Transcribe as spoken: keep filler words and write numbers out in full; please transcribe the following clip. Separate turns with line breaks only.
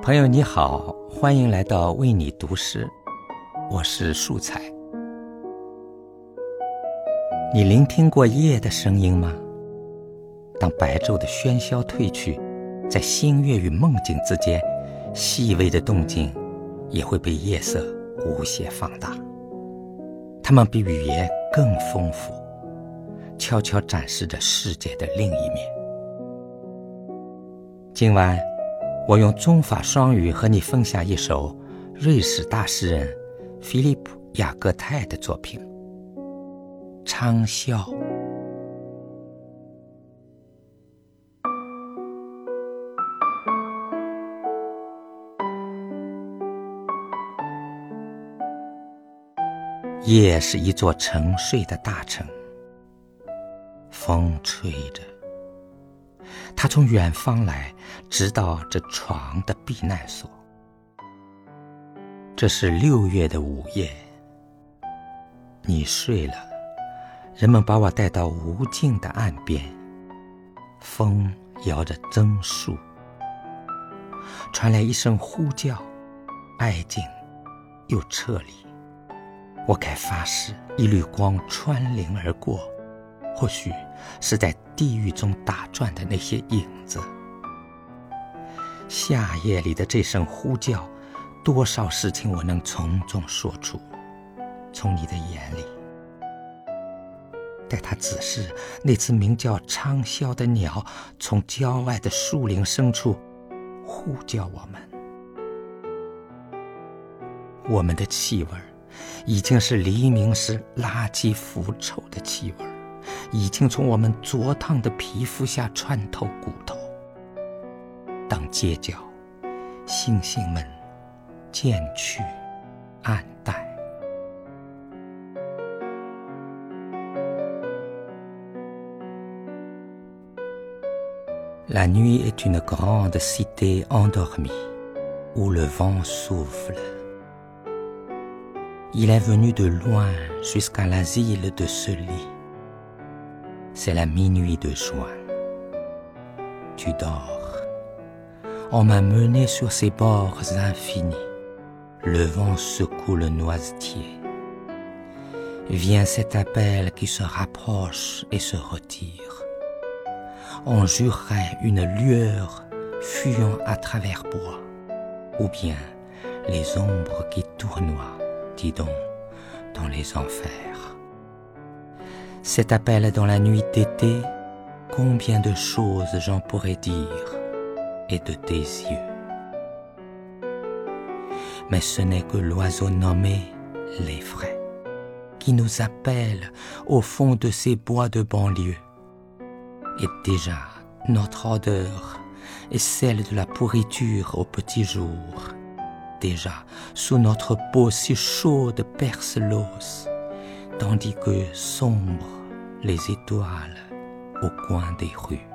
朋友你好，欢迎来到为你读诗，我是素彩。你聆听过夜的声音吗？当白昼的喧嚣退去，在星月与梦境之间，细微的动静也会被夜色无限放大。它们比语言更丰富，悄悄展示着世界的另一面。今晚我用中法双语和你分享一首瑞士大诗人菲利普·雅各泰的作品《昌啸》。夜是一座沉睡的大城，风吹着，它从远方来，直到这床的避难所。这是六月的午夜，你睡了，人们把我带到无尽的岸边，风摇着榛树，传来一声呼叫，爱近又撤离。我该发誓，一缕光穿林而过，或许是在地狱中打转的那些影子。夏夜里的这声呼叫，多少事情我能从中说出，从你的眼里。待他指示那只名叫昌啸的鸟从郊外的树林深处呼叫我们，我们的气味已经是黎明时垃圾腐臭的气味，已经从我们灼烫的皮肤下穿透骨头。当街角星星们渐去暗淡， La nuit est une grande cité endormie où le vent souffle. Il est venu de loin jusqu'à l'asile de ce lit. C'est la minuit de juin. Tu dors. On m'a mené sur ces bords infinis. Le vent secoue le noisetier. Vient cet appel qui se rapproche et se retire. On jurerait une lueur fuyant à travers bois, ou bien les ombres qui tournoient, dis donc, dans les enfers. Cet appel dans la nuit d'été, combien de choses j'en pourrais dire, et de tes yeux. Mais ce n'est que l'oiseau nommé l'effraie, qui nous appelle au fond de ces bois de banlieue. Et déjà, notre odeur est celle de la pourriture au petit jour. Déjà, sous notre peau si chaude perce l'os, tandis que sombrent les étoiles au coin des rues.